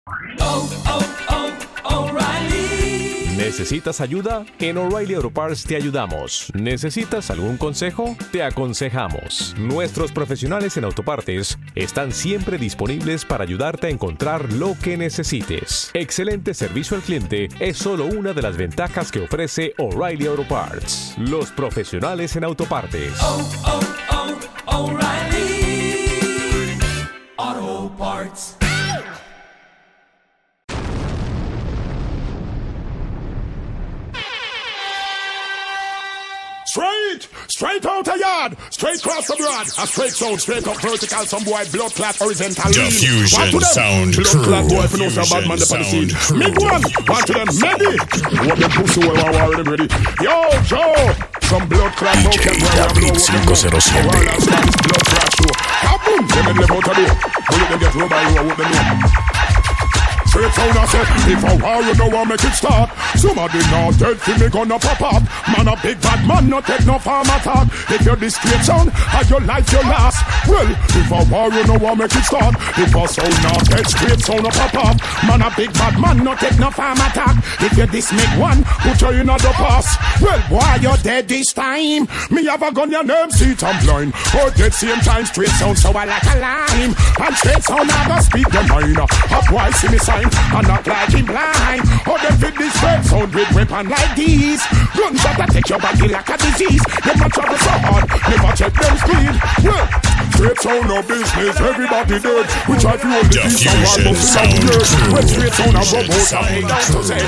O'Reilly. ¿Necesitas ayuda? En O'Reilly Auto Parts te ayudamos. ¿Necesitas algún consejo? Te aconsejamos. Nuestros profesionales en autopartes están siempre disponibles para ayudarte a encontrar lo que necesites. Excelente servicio al cliente es solo una de las ventajas que ofrece O'Reilly Auto Parts. Los profesionales en autopartes. O'Reilly Auto Parts. Straight out a yard, straight cross the broad, a straight sound, straight up vertical, some boy blood clot horizontal. Diffusion sound blood crew. clot boy, if you know some bad man the scene. Mid one to them, Medi. What them pussy well already ready. Yo, Joe, some blood clot. DJ David 507. Blood clot show. Kaboom, them live out of there. Will them get rubber, you what them know. Straight sound I said, if I war you know I make it start. Somebody not dead for me gonna pop up. Man a big bad man, not take no farm attack. If you're this straight sound, and your life your last. Well, if I war you know I make it start. If I sound not dead, straight sound a pop up. Man a big bad man, not take no farm attack. If you this make one, put you in the pass. Well, why you dead this time? Me have a gun, your name seat I'm blind. Or dead same time, straight sound so I like a lime. And straight sound I go speak the minor. Up why see me sign. And not like him blind. Or them fit this red sound with weapon like these. Gunshot that take your body like a disease. Them a travel so hard, never check them speed. Well, straight sound no business, everybody dead. We try to hold the peace and one must be like dirt. When straight sound a robot and down to say.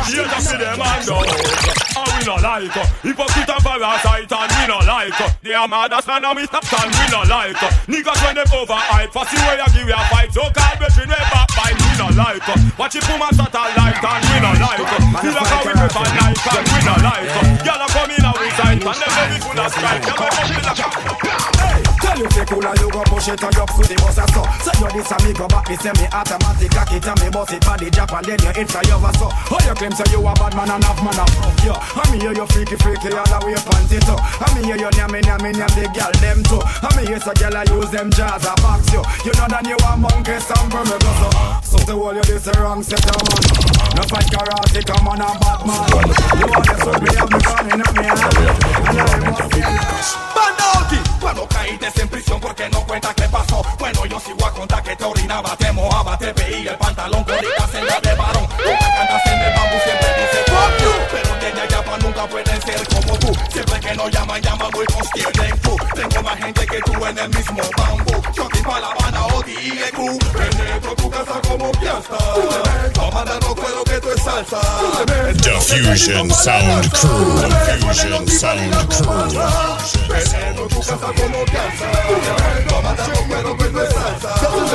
We no like hypocrite and parasite and we no like they are mad as man and we stop and we no like niggas when them overhype for see where you give you a fight so called between way back by we no like watch it puma shot a light and we no like feel like how we prefer night and we no like y'all are coming out with sight and them baby full of strike y'all are coming like tell you fake cool and you go push it and you to the boss and so you this and me go back me say me automatic cock it and me boss it for the jab and then you in for your so how you claim say you a bad man and have man up yo I me hear you freaky all the way panty too I me hear you nyame the girl them too I me hear so girl I use them jazz a box you you know that you a monkey some from me go so the whole you this a wrong set of man no fight karate come on a bad man you want to so me have me gun in me hand and I must Bandauti cuando caíste en prisión porque no cuenta qué pasó bueno yo sigo a contar que te orinaba te mojaba te veía el pantalón con la senda de varón nunca cantas en el bambú siempre dice fuck you pero de allá pa' nunca pueden ser como tú siempre que no llaman muy consciente tú tengo más gente que tú en el mismo bambú yo te pa' La Habana o D.E.Q penetro tu casa como piasta comandando cuero que tú es salsa Diffusion sound crew. Diffusion sound crew. penetro tu casa como piasta comandando cuero que tú es salsa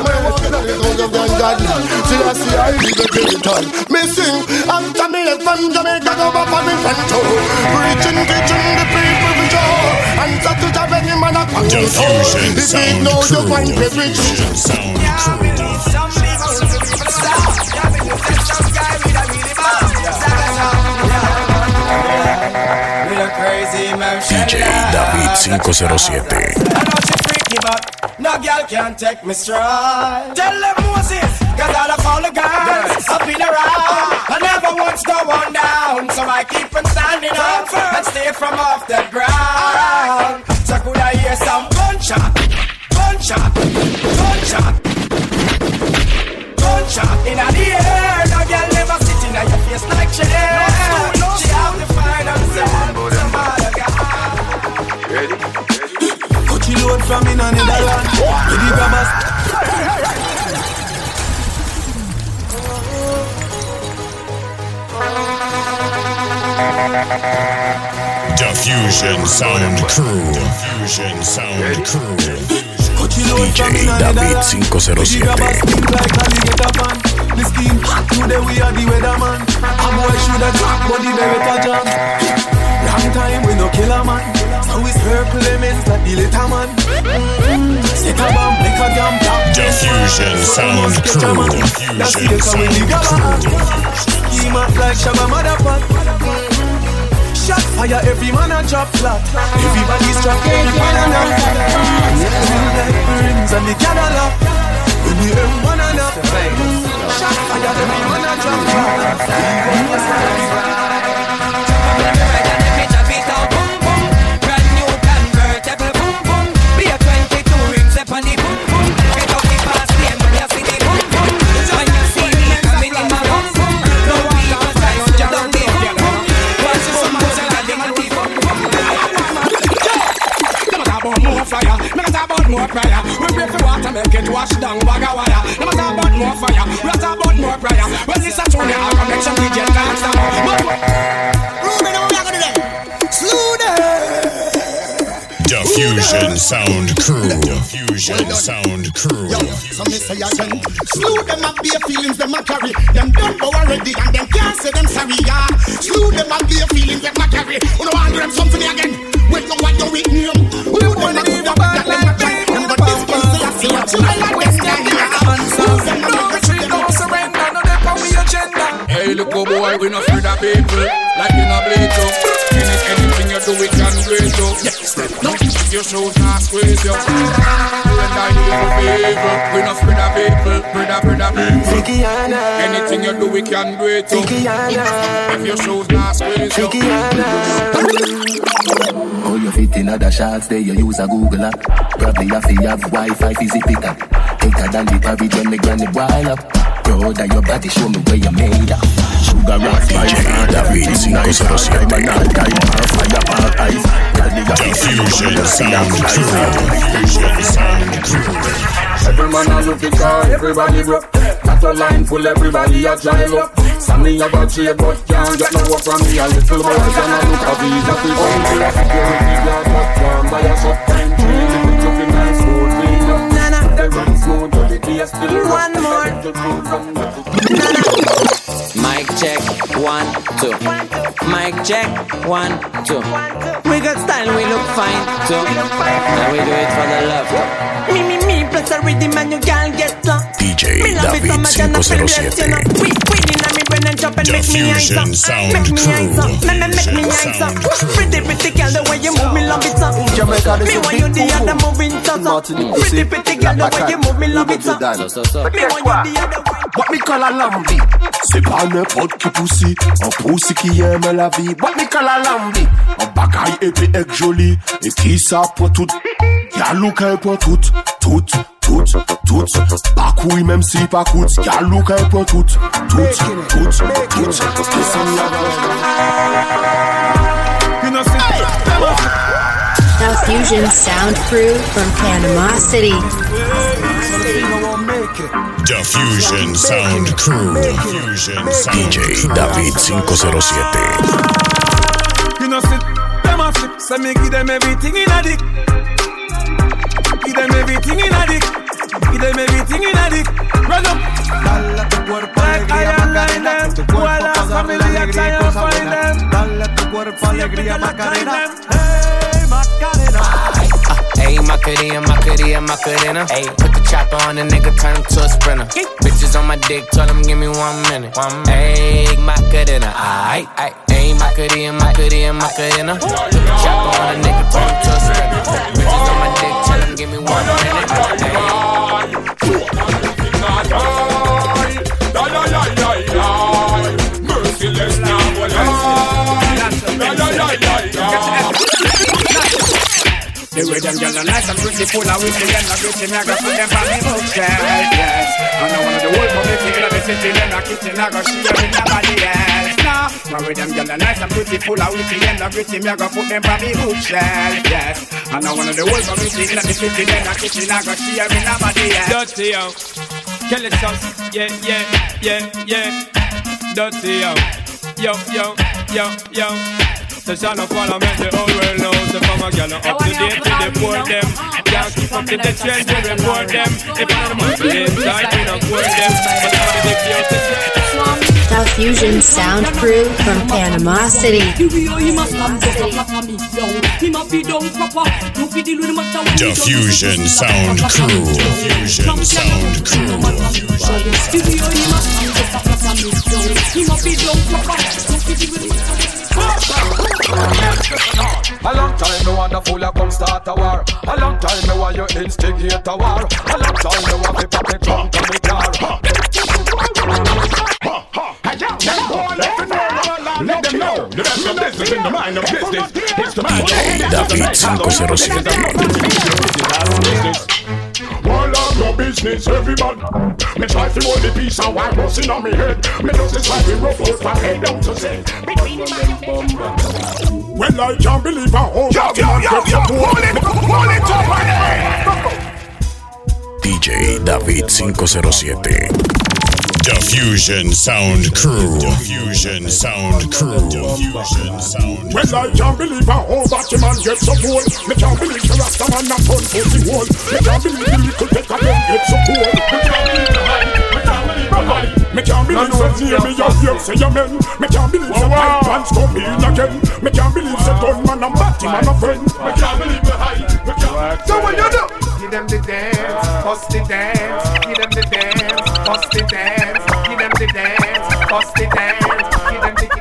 me sing after me left from Jamaica go back from Infantro preaching teaching the people to show and so to the any man a come Diffusion sound crew. Diffusion sound crew. DJ David 507. No girl can take me stride. Tell them Moses, cause all of all the guys up in around. I never once go on down, so I keep on standing up and stay from off the ground. So could I hear some gunshot, gunshot, gunshot, gunshot in the air. No girl never sitting on your face like chair. She have to find herself some other guy. Ready? She load from in another land. With the grabbers. Diffusion sound crew. Diffusion sound crew. DJ David 507. The scheme, today we are the weatherman. A boy shoulda drop, but the Beretta jam. Long time we no kill a man. So we circle elements like the little man. Set a bomb, make a damn top. Diffusion sound crew. Diffusion sound crew. Scheme up like Shabba Motherfucker. Shot fire, every man a drop flat. Everybody's trapped, every man a knock. Like rings and the Cadillac. When the M1 and up. Shot fire. wash down bag of wire. No matter about more fire, we are talk about more prayer. Well, this a tune, I can make some DJ dance now. Ruben, how we are gonna do that? Slow down. Diffusion Sound Crew. Diffusion Sound Crew. Yo, so me say again, slew them up their feelings them a carry. Them done go already and them can't say them sorry, yeah. Slew them up their feelings them a carry. You know I do them something again. Wait no what you with me. Who you wanna do that them a try? Them got this case say I see what you like them guy. Slew them no retreat, no surrender, no they for we agenda. Hey, look oh boy, we not afraid of people. Like in a blade up. Anything you do, we can break up. Yes, no, if your shows not squeeze you. And I do you a favor. We not afraid of people, people. Anything you do, we can break up. If your shows not squeeze you. Oh, you fit in other shots there, you use a Google app. Probably have to have Wi-Fi, fizzy picker. Thicker than the porridge when me granny boil up. Proud of your body, show me where you made up. Sugar rock, DJ David 507. Diffusion Sound Crew. Every man a look it car, everybody broke. Got a line full, everybody a drive up. Sammy a got trade, but can't get no work from me. A little boy can a look a visa. If you want to a security guard, but can't buy a shop time tree. Look at the nice food, clean up. They run smooth, but the day still one more. Mic check, 1, 2. Mic check, 1, 2. We got style, we look fine too. Now we do it for the love. Me, plus a rhythm and you can't get some. DJ David 507. We in a me brain and chop and make me eyes up. Make me eyes up, make me eyes up. Pretty girl, the way you move me love it up. Me want you the other moving so. Pretty girl, the way you move me love it up. Me want you the other way. What me call a lambi? C'est pas n'importe qui poussi, un poussi qui aime la vie. What me call a lambi? Un bagaille épais et joli, et qui ça pour tout? Y'a l'ouka pour tout. Pas couille même si pas coûte. Y'a l'ouka pour tout. Diffusion Sound Crew from Panama City. Diffusion Sound Crew. DJ David 507. You know sit, them a flip, so me give them everything in a dick. Give them everything in a dick. Give them everything in a dick. Run up. Dale tu cuerpo alegría Macarena. Tu cuerpo familia try and find them. Dale tu cuerpo alegría Macarena. Hey Macarena. Hey, Macarena. Hey, put the chopper on the nigga, turn him to a sprinter. Bitches on my dick, tell him give me 1 minute. Hey, Macarena. Aight. Hey, Macarena. Put the chopper on the nigga, turn him to a sprinter. Bitches on my dick, tell him give me 1 minute. Merciless now, the rhythm girls are nice and pretty, full of whiskey and a beauty. Me I go put them on me bookshelf, yes. And I want the whole publicity in the city, them a kitchen I go share with nobody else. Nah, my rhythm girls are nice and pretty, full of whiskey and a beauty. Me I go put them on me bookshelf, yes. And I want the whole publicity in the city, them a kitchen I go share with nobody else. Dirty yo, kill it sauce, yeah. Dirty yo. The son of Parliament, the whole world knows. The farmer girl up to date to deport them. Can't keep up to the trend to report them. If one of the muscle inside, we don't court them. But now the big deal to Diffusion Sound Crew from Panama City. Diffusion Sound Crew. A long time me want the fool come start a war. A long time me want you instigate a war. A long time me want to pop the trunk to me car. Let them know the rest of business in the mind of business. It's the mind DJ David 507. All of your business, everybody. Me try to hold the piece and white busting on me head. Me just try to rough out my head down to say. Well, I can't believe how old that man gets a poor. Hold it up, man. DJ David 507. The Fusion Sound Crew. The Fusion Sound Crew. The Fusion Sound Crew. Well, I can't believe how old that man gets so cool. Me can't believe the Rasta man not turn pussy hole. Me can't believe the little peck of them get so cool. Me can't believe the hype. Me can't believe the hype. Me can't believe the near me your ear say amen. Me can't believe the hype pants come in again. Me can't believe the gunman and batty man a friend. Me can't believe the hype. Me can't. So what you do? Give them the dance, bust the dance. Give them the dance, bust the dance. Give them the dance, bust the dance. Give them the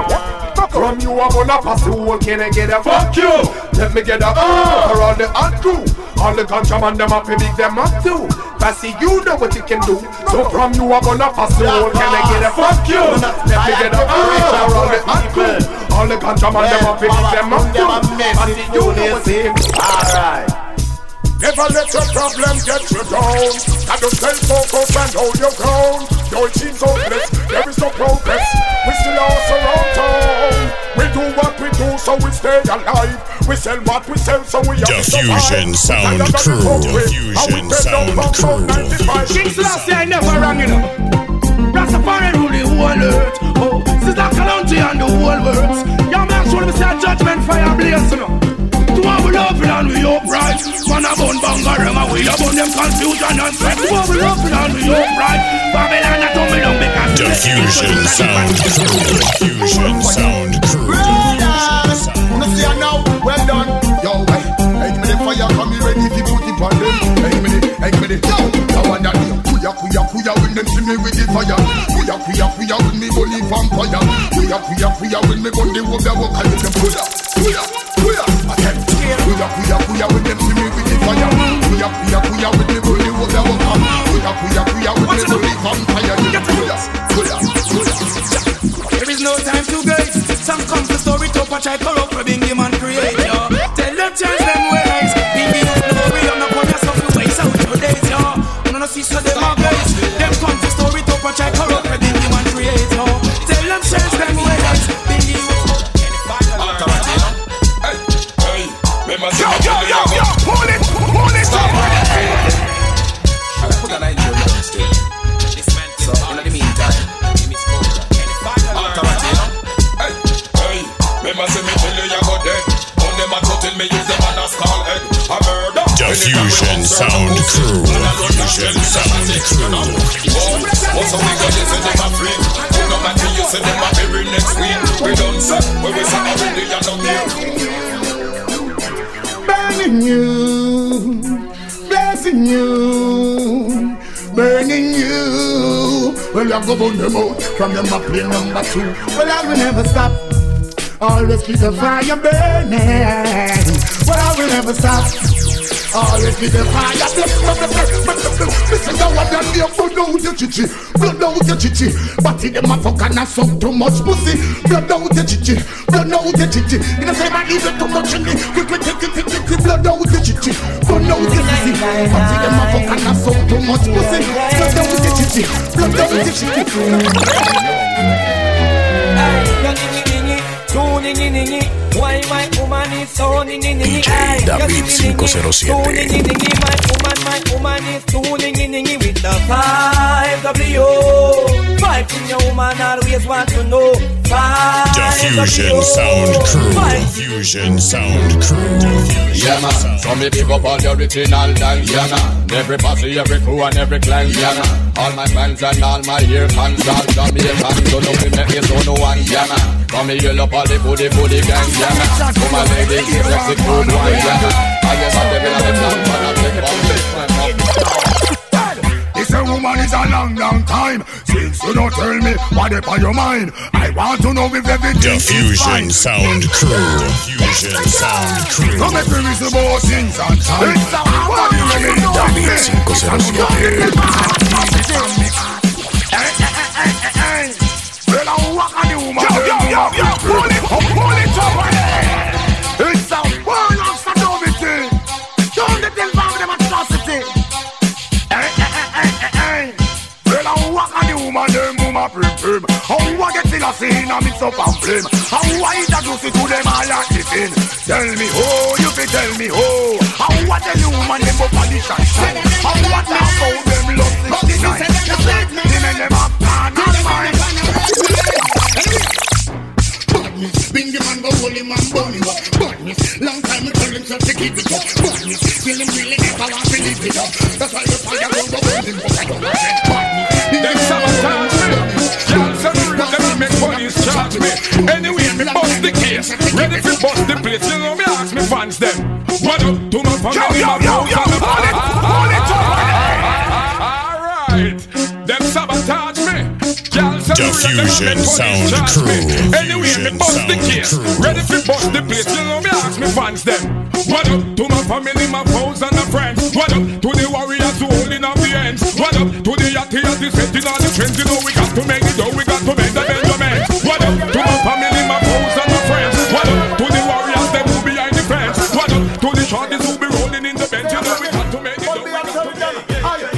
From you I'm gonna pass the whole, can I get a fuck you? Let me get a for all the hot crew. All the contraband them up, big them up too. Passy, you know what you can do. So from you I'm gonna pass the whole, can I get a fuck you? Let me get a for all the hot crew. All the contraband them up, big them up too. Passy, you know what you can do. Alright. Never let your problem get you down. I don't stay focused and hold your ground. Though it seems hopeless, there is no progress. We still are surround town. We do what we do, so we stay alive. We sell what we sell, so we have to survive. Fusion Sound Crew. The Fusion Sound Crew. King Selassie, I never rang it up. Rastafari rule the whole earth. Oh, this is like Kalonji and the whole world. Young man, show me say judgment fire blaze, you know. To our love and we upright. Man a bun bangarang and we a bun them confusion and stress. To our love and we upright. Babylon a tumble down because The Fusion Sound Crew. The Fusion Sound Crew. Brothers, wanna see her now? Well done. Yo, hey, give me the fire, come here ready to put it on them. Hey, give me the, yo, I want that. Kuya when them see me with the fire. Kuya when me bully vampire. Kuya when me gun the wood the walk and them kuya. Again. Kuya when them see me with the fire. Kuya when me bully wood the walk. Kuya when me bully vampire. Kuya. There is no time to waste. Some come to story to patch I corrupt for being human creator. Tell them change them ways. Be no way I'm not gonna suffer waste out your days, yo. No see so them are guys. Them come to story to patch I corrupt for being human creator. Tell them change them ways. Be you. Yo, pull it up. Put a line to your still. So in the meantime, give me smoke. Remember say me tell you you go dead. On them a tell me use them as call head. A murder. The Fusion Sound Crew. The Fusion Sound Crew. Also we got you say them a free. No matter you say them a bury next week. We don't say where we say already you don't hear. Burning you, blessing you, burning you. Well, you go burn them out from them up play number 2. Well, I will never stop. Always keep the fire burning. Well, I will never stop. Always keep the fire. Listen to what them do. Blood out your chichi, blood out your chichi. But in them a fuck and a suck too much pussy. Blood out your chichi, blood out your chichi. You know say man leave it too much in me. Quick, blood out your chichi, blood out your chichi. But in them a fuck and a suck too much pussy. Blood out your chichi, blood out your chichi. Why my woman is so ningy DJ David 507. My woman is too ningy with the 5W. 5 in your woman always want to know. The Fusion Sound Crew. The Fusion Sound Crew. Yeah man, so me pick up all the original dance. Yeah man, every posse, every crew and every clan. Yeah man, all my fans and all my ear fans, all Jamaicans, so no me make me so no one. Yeah man, come me yell up all the booty gang. Yeah man, come my ladies, sexy cool one. Yeah man, I guess I'm the villain of the plan, but I'm the bomb. This a woman is a long time since you don't tell me what is on your mind. I want to know if everything is fine. The Fusion Sound Crew. The Fusion Sound Crew. Come and bring me some more things on time. David 507. Well, I walk on the woman. Yo, pull it up on there. It's a world of sodomity. Don't let them find them atrocity. Well, I walk on the woman them woman prim prim. How I get in a scene and mix up and blame. How I introduce it to them all like the thing. Tell me how, you fi tell me how. How I tell you woman them up on the shine shine. How I talk about them love 69. The men them up plan and mind. Badness, bring the man go hold him and burn him up. Badness, long time I tell him so to keep it up. Badness, feel him really never want to live it up. That's why the fire go burn him up. I don't want that badness. Them sabotage me. Y'all say me real, them make police charge me. Anyway, me bust the case. Ready to bust the place. You know me ask me fans them. What up to my family, my bros and my alright. Them sabotage me. Diffusion Sound Crew. Anyway, me bust the case. Ready to bust the place. You know me ask me fans them. What up to my family, my foes and my friends. What up to the warriors who holding up the ends. What up to the yachty setting all the trends. You know we got to make it though. We got to make the Benjamin. What up to my family, my foes and my friends. What up to the warriors them who behind the fence. What up to the shorties who be rolling in the bench. You know we got to make it though. We got to make it.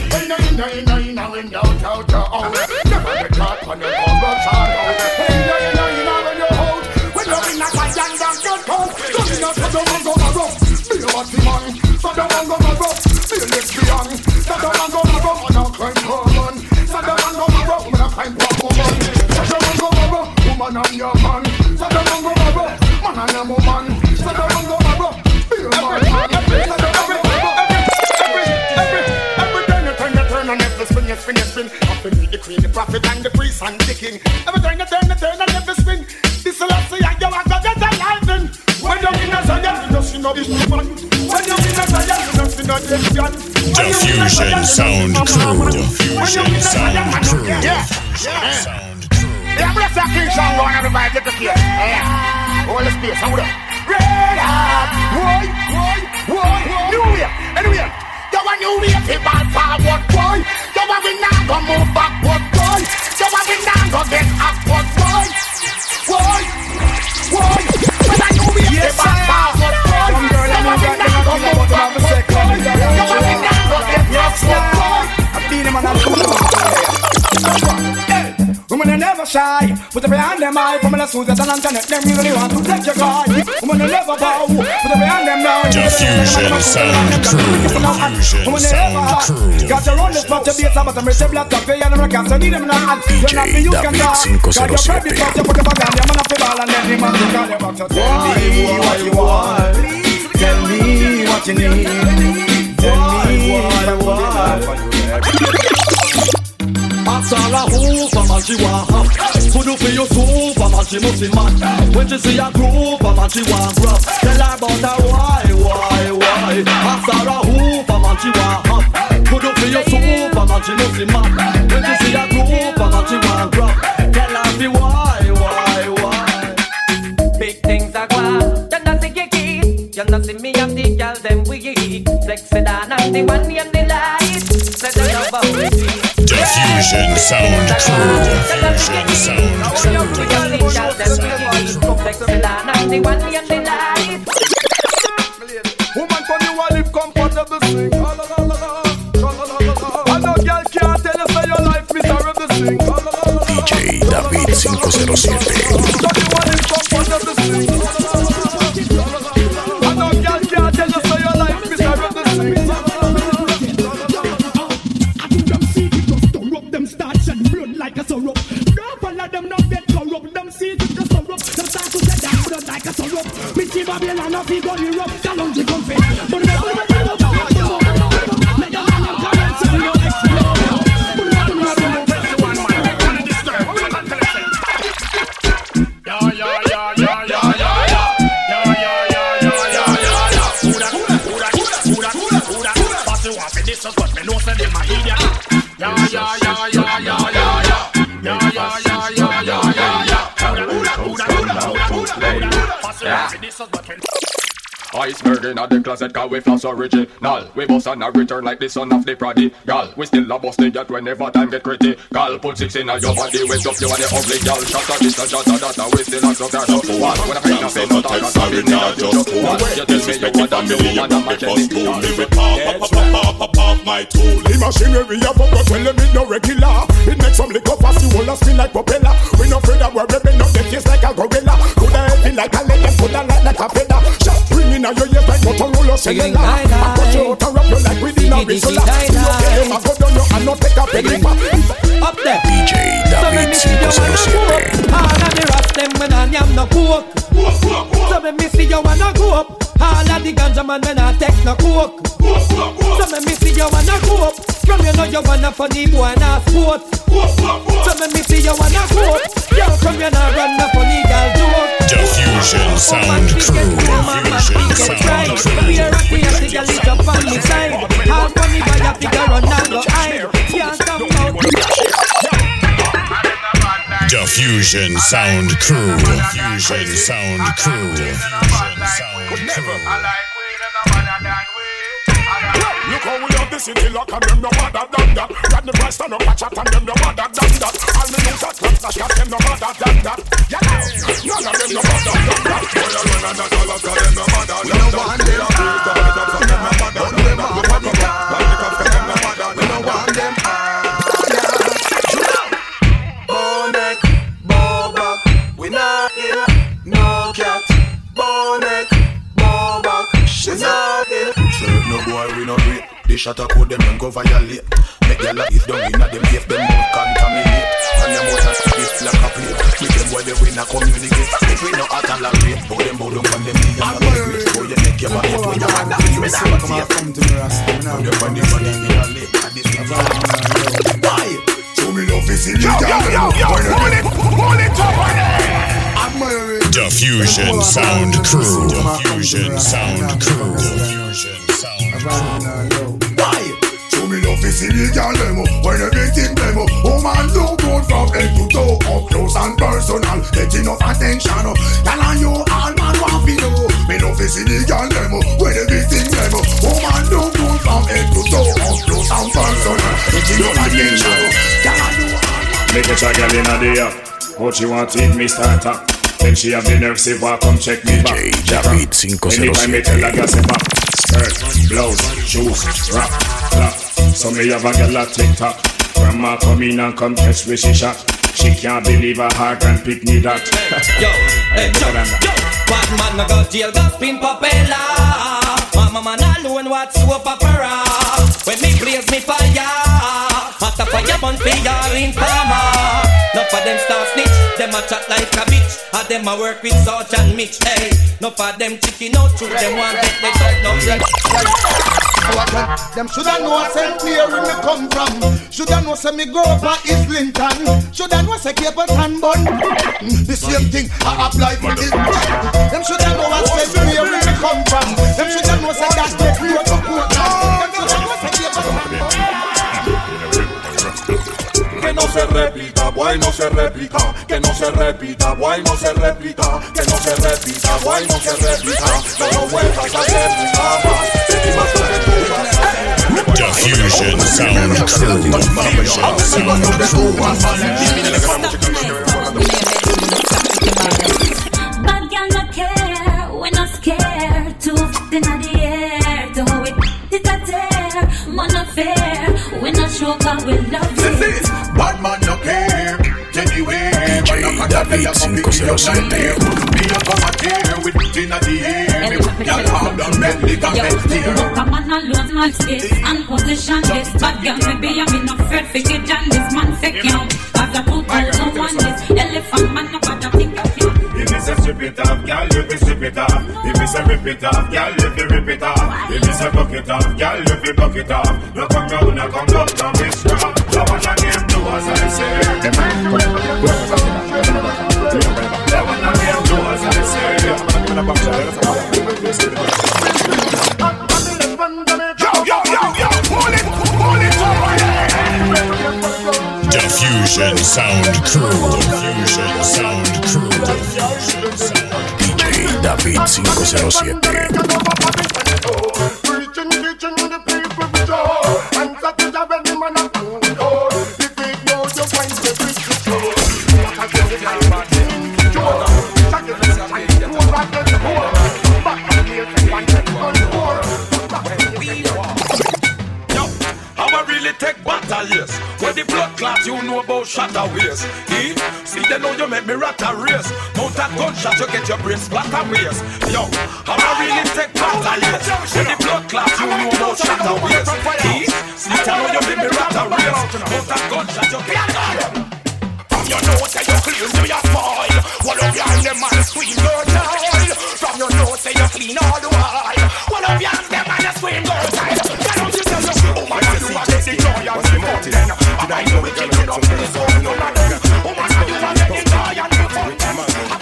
The prophet and the priest and the king. Every turn and every spin. This is last year you are gonna get a life in. When you're in a Zion, you don't see no vision. When you're in a Zion, you don't see no vision. Diffusion Sound Crew. Diffusion Sound Crew. Yeah. I'm gonna say King Song going everybody get the kid. Yeah. All the space, hold up. Red hot. Why? New year. Anyway. You want new way to ball forward, boy. You want we now go move backward, boy. You want we now go get upward, boy. You want new way to ball forward, boy. You want we now go move backward, boy. You want we now go get upward, boy. I feel him and I'm women are never shy, put every hand them high. Women are Susan and Antoinette, them really want to take your guy. Women are never bow, put every hand them down. Diffusion Sound Crew. Diffusion Sound Crew. Got your own spot to be a sabbath and receive black up. They are the cancer, need them now. DJ David 507. Got your put your bag on, you're gonna feel all and then the man to call you back to tell me what you want. Tell me what you need. Tell me what I want. Asala Superman she want Could you feel your Superman she must be mad. When she see a group man she want grab. Tell her about her why. Asala Superman she want Could you feel your Superman she must be mad. When she see a group man she want grab. Tell her be why. Big things are gone. You not see kiki. You not see me and the girl them we eat. Sexy than and the one in the light. Set the love up with me. Diffusion Sound Crew. Diffusion Sound Crew. Woman from you a live comfortable sing. I know girl can't tell you say your life miserable sing. DJ David 507. I know girl can't tell you say your life miserable sing. Like a sorrow, don't follow them, not get corrupt. Them see it just corrupt. Them start to get down, blood like a sorrow. Me see Babylon off, he go Europe. Challenge the confess. But this is what me know, say them a idiot. Iceberg in the closet, cause we floss original. We bust and a return like the son of the prodigal. We still a bust the yacht whenever time get critical. Put 6 in your body, wake up you and the ugly girl. Shut up, this, shut up, that, we still a suck that up. One, when I find a face, not a sorry, not just one. You tell me you want a million and a machine. Pop my tool. The machinery of a gun, tell them it no regular. It makes some liquor fast, you will spin like propeller. We no afraid that we're ripping up the face like a gorilla. Coulda heavy like a leg, coulda light like a feather. Shot ringing out your ears like Motorola cellular. I cut you out and wrap you like within a whistle. See your game, I go down you and not take a penny. Up there, DJ David 507. all of the rats them when I am no coke. So when me see you wanna go up, all of the ganja man when I take no coke. So when me see you wanna go up, from you know you wanna funny boy and a sport. So when me see you wanna go up, yo from you know run no funny girl joke. Diffusion Sound Crew. Diffusion Sound Crew. We are rocky and the girl is up on me side. All funny boy a figure run and go hide. Can't come out. Diffusion Sound Crew. Diffusion Sound Crew. Look how we have the city lock and them no bother than that. Got the price stand up a chat and them no bother than that. All me know that class got them no bother than that. Yeah, none of them no bother than that. Boy, I run and all of them no bother than that. We no want them. We no want them. Bonek, Bobak, we not here. No cat. Bonek, Bobak, we not here. No boy, we not wait. They shut up code them and go violate. Make their life down in them give them more contaminate. And them out of this like a plate. With them boy they win a communicate. If we no act and like rate, bow them from them knee and great. Boy you make your body boy you want to feel me now. Come to me Rasta. Boy you find the money in your lip. And this is why? So me love is illegal. Hold it over there. Diffusion Sound Crew. Diffusion Sound Crew. Diffusion Sound Crew. Why? So me love is illegal demo. When everything demo. Oh man, look good from head to toe. Up close and personal. Get enough attention. Tell on you all man want to know. Me love is illegal demo. When everything demo. Oh man, look good from head to toe. Up close and personal. Get enough attention. Tell on you all man. Make a check girl in the air. What you want to eat me start up. Then she have the nerve say, "Walk, come check me back." David 507. Anytime me tell her girl say back. Skirt, blouse, shoes, rap, clap. So me have a girl at TikTok. Grandma come in and come catch where she shot. She can't believe her heart and pick me that. Yo, bad man no go jail, go spin propeller. Mama man alone watch soap opera. When me blaze me fire, after fire burn fire in farmer. Enough of them start snitch, them a chat like a bitch. And them a work with Sarge and Mitch. Hey, enough of them chicken out through them want get they cut no bread. Them shoulda know St. Mary me come from. Shoulda know say me grow up at Islington. Shoulda know say Capleton bun. The same thing I apply for this. Them shoulda know St. Mary me come from. Them shoulda know say that they grow up to Portland. Them shoulda know say Capleton bun. Que no se repita, boy, no se repita. Que no se repita, boy, no se repita. Que no se repita, boy, no se repita. No lo vuelvas a hacer nunca más. Diffusion Sound Crew. Diffusion Sound Crew. Bad girl no care, we not scared. Too fit in the air, to how it a tear. Man affair, we not sure cause we love it. Bad man no care. Anyway, DJ David 507. Me a come a tear with it in the air. Y'all have done medley can make tear. Look a man alone, man space and position this. Bad girl maybe I mean no afraid for it and this man fake you. After 2001 this elephant man no bother think of you. If me say strip it off, girl, you be strip it off. If me say rip it off, girl, you be rip it off. If me say buck it off, girl, you be buck it off. No come round, no come down, no witchcraft. Love what I name do as I say. Love what I name do as I say. Yo, pull it over there. Diffusion Sound Crew. Diffusion Sound Crew. Diffusion Sound. DJ David 507. Yes. When the blood clot, you know about shatter waist. See, they know you make me rat a race. Mount a gunshot, you get your brain splatter waist. Yo, I'm really take part of yes. When the blood clot, you know about shatter waist. See, they know you make me rat a race. Mount a gunshot, you get from your nose, say you clean to your spoil. What up behind them man scream, girl child. From your nose, say you clean all the while. What up behind them man scream, girl child. Why don't you tell me, oh my God, you are the joy and the mountain. I know we can get up to the phone, no matter. Oh my God, you are the joy and the mountain.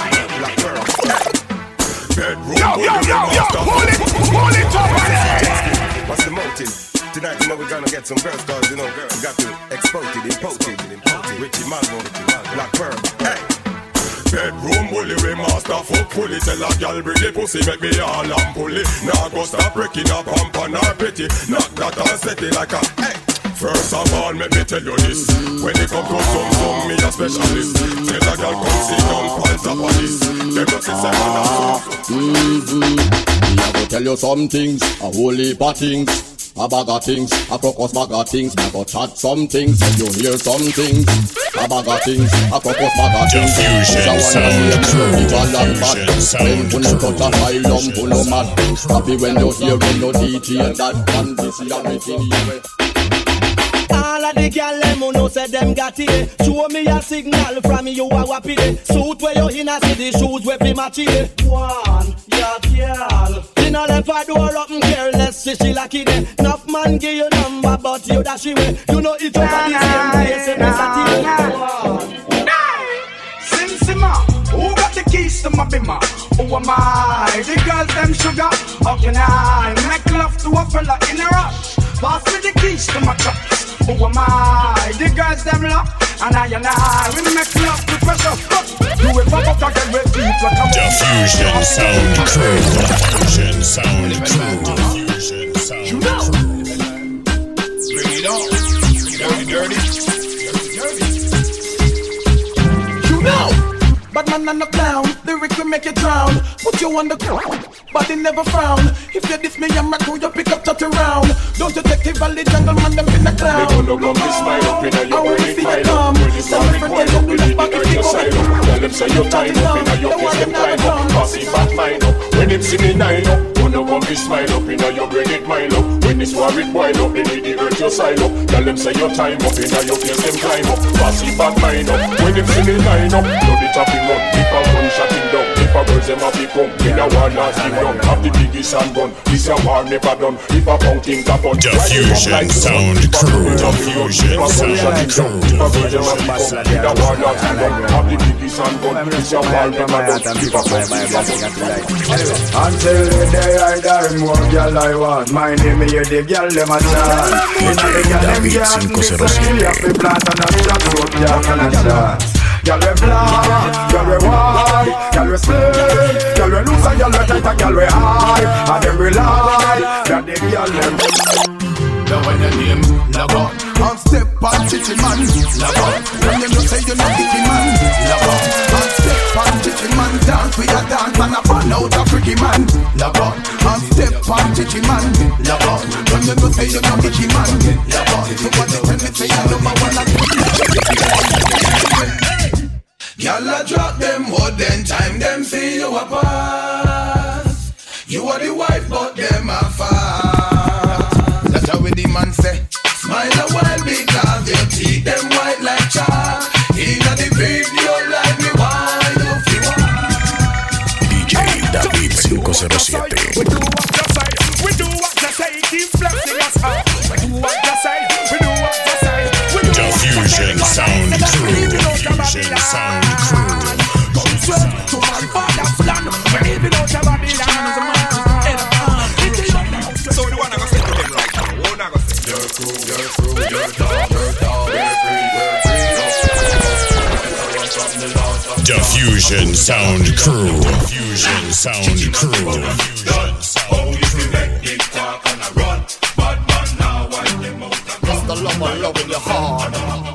Yo, hold it up, man. What's the motive? Tonight, you know we're gonna get some girls, cause you know, girls got to export it, import it. Richie Mago, Black Pearl, hey. Bedroom bully, we master fuck fully. Tell a gal bring the pussy, make me all and pulley. Now go stop breaking up hump on her petty. Knock that and set it like a hey. First of all, let me tell you this. When it come to some, me a specialist. Tell a gal come see down on top of this. Them just say man a Me a go tell you some things, a whole heap of things. A bag of things, a crocus bag of things. Me a go chat some things, and you hear some things. A bag of things, a crocus bag of things. Diffusion sound crew. When you touch a high lump, you no mad. Happy when you hear when no DJ that can be see everything you all of the gyal them who know say them got it. Show me a signal from you a wappy day. Suit where you in a city, shoes where we match it. One, yeah, gyal. You know left a door up and careless, she lucky day. Enough man give you number, but you dash away. You know it over the same place, and it's a team. Sim Simma, who got the keys to my bimmer? Who am I? The girls them sugar. How can I make love to a fella in a rush? Pass me the keys to my cups. Who am I? The girls them lock. And I we make love to pressure. You will pop up again with deep like a Diffusion sound crew. Diffusion sound crew. Diffusion sound crew. Bring it on. Dirty. You know, but man and a clown. Lyric will make you drown. Put you on the ground, but it never frown. If you diss me, I'm a crew, you pick up touch around. Don't you take the valley jungle man, them in the clown. They gonna come this smile up in a your brain, smile up. When you start it, wind up, it hurt your side up. Tell them say your time up in a your face, them climb up. Pass it back, mind up. When him see me nine up, gonna come this smile up in a your brain, it mile up. When this war it wild up, they need to hurt your side up. Tell them say your time up in a your face, them climb up. Pass it back, mind up. When him see me nine up, know the chopping run. If a gun shot him down, if a birds them have become. In a war not give down, have the biggest handgun. This a war never done. If a pounding tap on. Diffusion sound crew. Diffusion sound crew. If a birds them have become. In a war not give down, have the biggest handgun. This a war never done. If a until the day I die, more girl I want. My name is the girl them a chant. David 507. Plant and a shot road, girl and a shot. Girl we black, girl we white, girl we slim, girl we loose and girl we tight and girl we high. And them we lie, that the girl them. Now when your name log on, on step on chichi man, log on. When you know say you know dicky man, log on. On step on chichi man, dance we a dance and a burn out a freaky man, log on. On step on chichi man, log on. When you know say you know dicky man, log on. So what they tell me say you number one and y'all a drop them what then time them see you a pass. You are the wife but them a fast. That's how the man say. Smile a while because your teeth them white like chalk. Inna the video like me why you feel DJ David 507. We do what you say. We do what you say. Keep blessing us up. We do what you say. We do what you say. Diffusion sound crew. Diffusion sound crew. To my father's land, we're living out of Babylon. So the one I go say to them right now, one I go say your crew, your dog, your free, Diffusion Sound Crew. Diffusion Sound Crew. Just the love in your heart.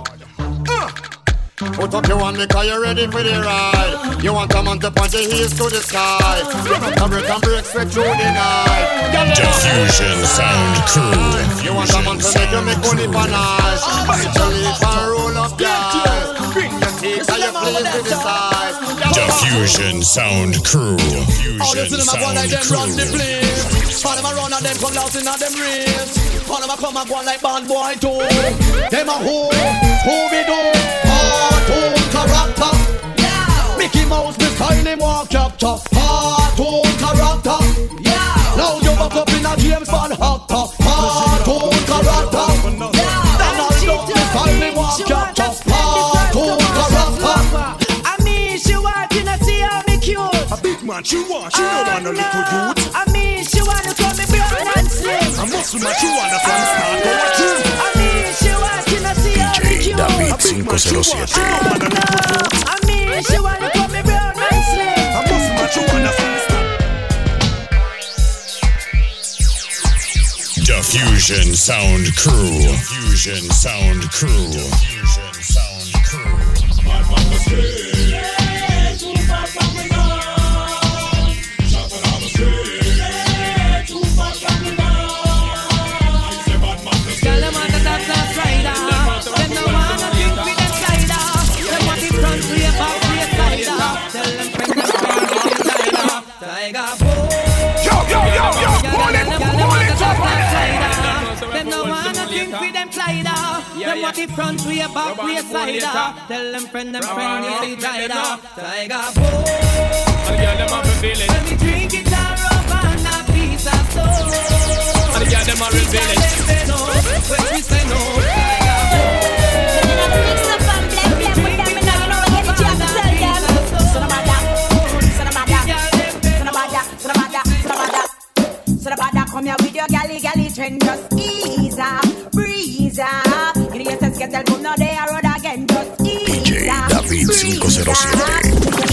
Put up your hand because you're ready for the ride. You want a man to point your heels to the sky. You want to break and break straight through the night. Diffusion Sound Crew. You want a man to make you make money for nice. Bite your lips and roll up your eyes. Bring your teeth and your place to the side. Diffusion Sound Crew. Diffusion Sound Crew. All them a run and them come lost in all them race. All them a come and go like bad boy too. Them a who we do? Cartoon character. Yeah. Mickey Mouse, me style him walk capture. Cartoon character. Yeah. Now you back up in a James Bond actor. Cartoon character. Yeah. Donald Duck, me style him walk capture. Cartoon character. I mean, she walking and see how me cute. A big man, she want a little youth. I mean, she wanna call me brown and slim. A muscle man, she wanna from start to a gym. I mean, she walking and see how me cute. David 507. I mean, she wanna call me brown and slim. A muscle man, she wanna from start. Diffusion Sound Crew. Diffusion Sound Crew. Diffusion Sound Crew. Them what the front way, back way, side. Tell them friend, the tighter. Tiger boy. Let me drink it and rub on a piece of soul. And the girl them a reveal it. When we say no, tiger boy. Mix up and blend with them and I know what you have to tell them. Son of a da, come here with your galley trend. Just ease up, breeze up. Idiots get el mundo de a road again. Just ease up, David 507.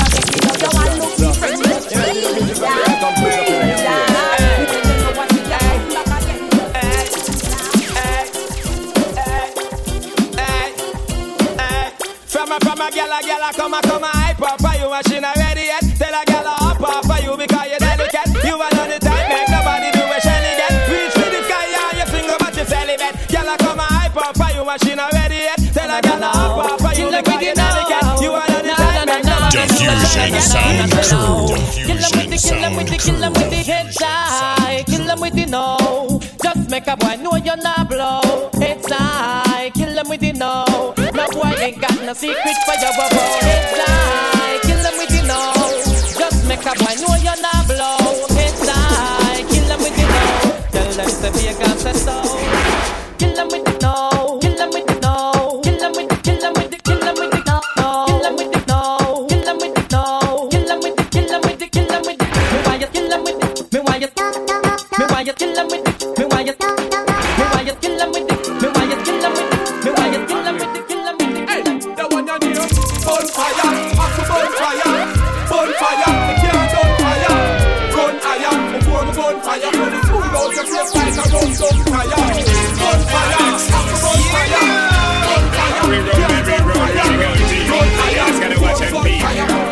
From a gala, come hype up for you and she not ready yet. Tell a gala up for you because you're delicate. You are not the type, make nobody do a shelly get. Reach for the sky and you single but you celibate. Gala come hype up for you and she not ready yet. Tell a gala up for you because you're delicate. You are not the type, make nobody do a Diffusion Sound Crew. Kill them with the head side. Kill them with the no. Just make a boy know you're not blow. Head side. Kill them with the no. No boy ain't got no secret for your bubble. Head side. Kill them with the no. Just make a boy know you're not blow. Head side. Kill them with the no. Tell them to be a god said so. Kill them with the no. Kill them with the no. Kill them with the no. Kill them with the no. Kill them with the no. Kill them with the Kill them with the Me why you kill them with the Me why you kill them with the Me why you kill them with the Me why you kill them with the Me why you kill them with the Me why you kill them with the Hey, the one you need bonfire, after bonfire, bonfire, the can't on fire, run higher, before the bonfire, when the food out your face like a run bonfire, bonfire, after bonfire, bonfire, we run every road, run higher, just gotta watch and be.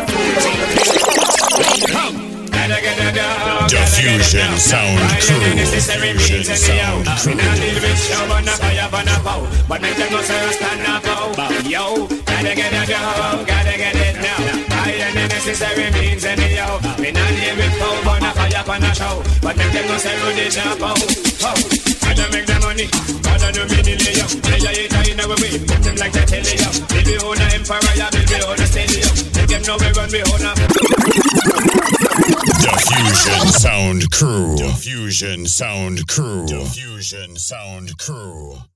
Diffusion Sound Crew. Diffusion Sound Crew. But make them go stand up, yo. Gotta get it down, gotta get it now. Higher than necessary means anyhow. We not here with power, but not fire on a show. But make them go say Rudy jump out. Gotta make the money, gotta do me the layout. They are in our way, put them like the telly up. Build me own a empire, build me own a stadium. Make them know we run me own a. Diffusion Sound Crew. Diffusion Sound Crew. Diffusion Sound Crew.